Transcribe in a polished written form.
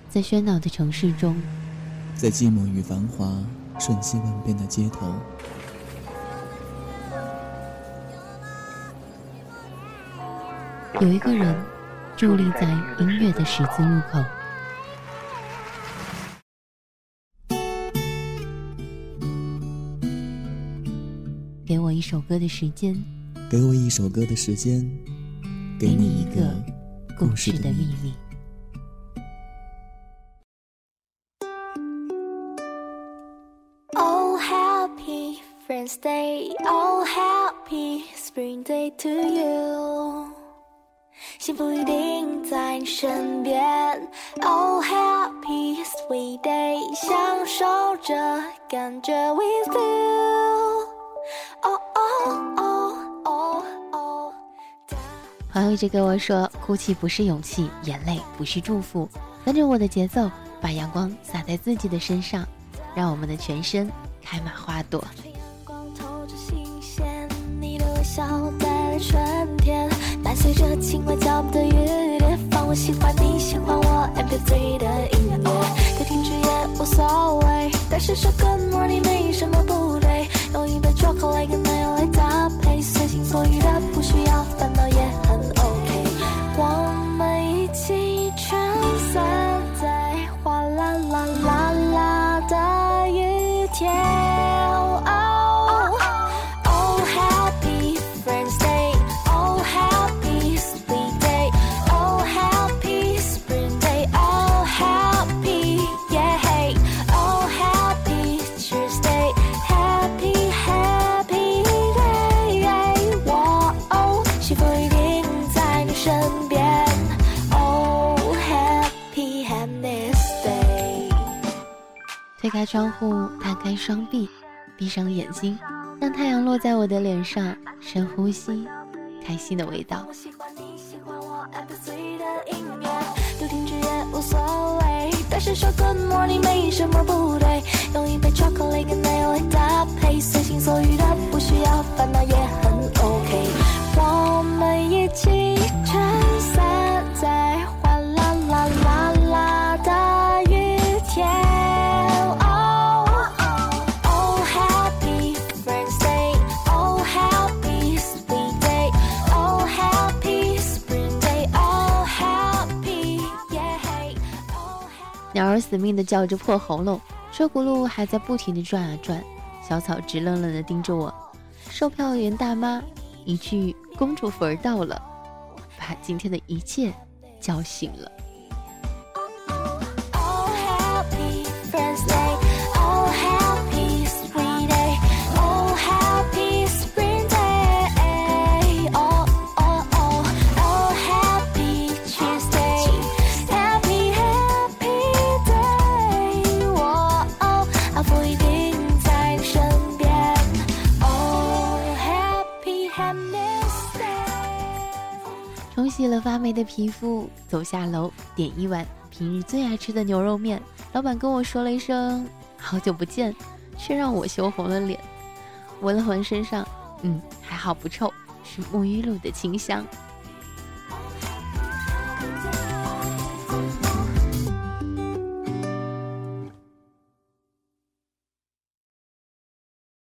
在喧闹的城市中， 在寂寞与繁华瞬息万变的街头， 有一个人伫立在音乐的十字路口。给我一首歌的时间， 给我一首歌的时间，给你一个故事的秘密。 Oh happy Friends Day, oh happy Spring Day to you， 幸福一定在你身边。Oh happy Sweet Day， 享受这感觉 with you。Oh oh oh oh oh。 朋友一直跟我说，哭泣不是勇气，眼泪不是祝福，跟着我的节奏，把阳光洒在自己的身上，让我们的全身开满花朵。 笑带来春天，伴随着轻快脚步的雨点，放我喜欢你喜欢我 MP3 的音乐，可停止也无所谓，但是说 Good morning 没什么不对，用一杯 chocolate 跟奶油来搭配，随心所欲的不需要烦恼也很 OK， 我们一起撑伞在哗啦啦啦啦的雨天。 推开窗户，摊开双臂，闭上眼睛，让太阳落在我的脸上，深呼吸，开心的味道。 我喜欢你喜欢我 MP3 的音乐，不停止也无所谓，但是说 Good morning 没什么不对，用一杯 chocolate 跟奶油来搭配，随心所欲的不需要烦恼也很 OK， 我们一起撑伞在哗啦啦啦啦的雨天。 鸟儿死命地叫着破喉咙，车轱辘还在不停地转啊转，小草直愣愣地盯着我。售票员大妈一句公主坟到了，把今天的一切叫醒了。冲洗了发霉的皮肤，走下楼，点一碗平日最爱吃的牛肉面。老板跟我说了一声好久不见，却让我羞红了脸。闻了闻身上，还好不臭，是沐浴露的清香。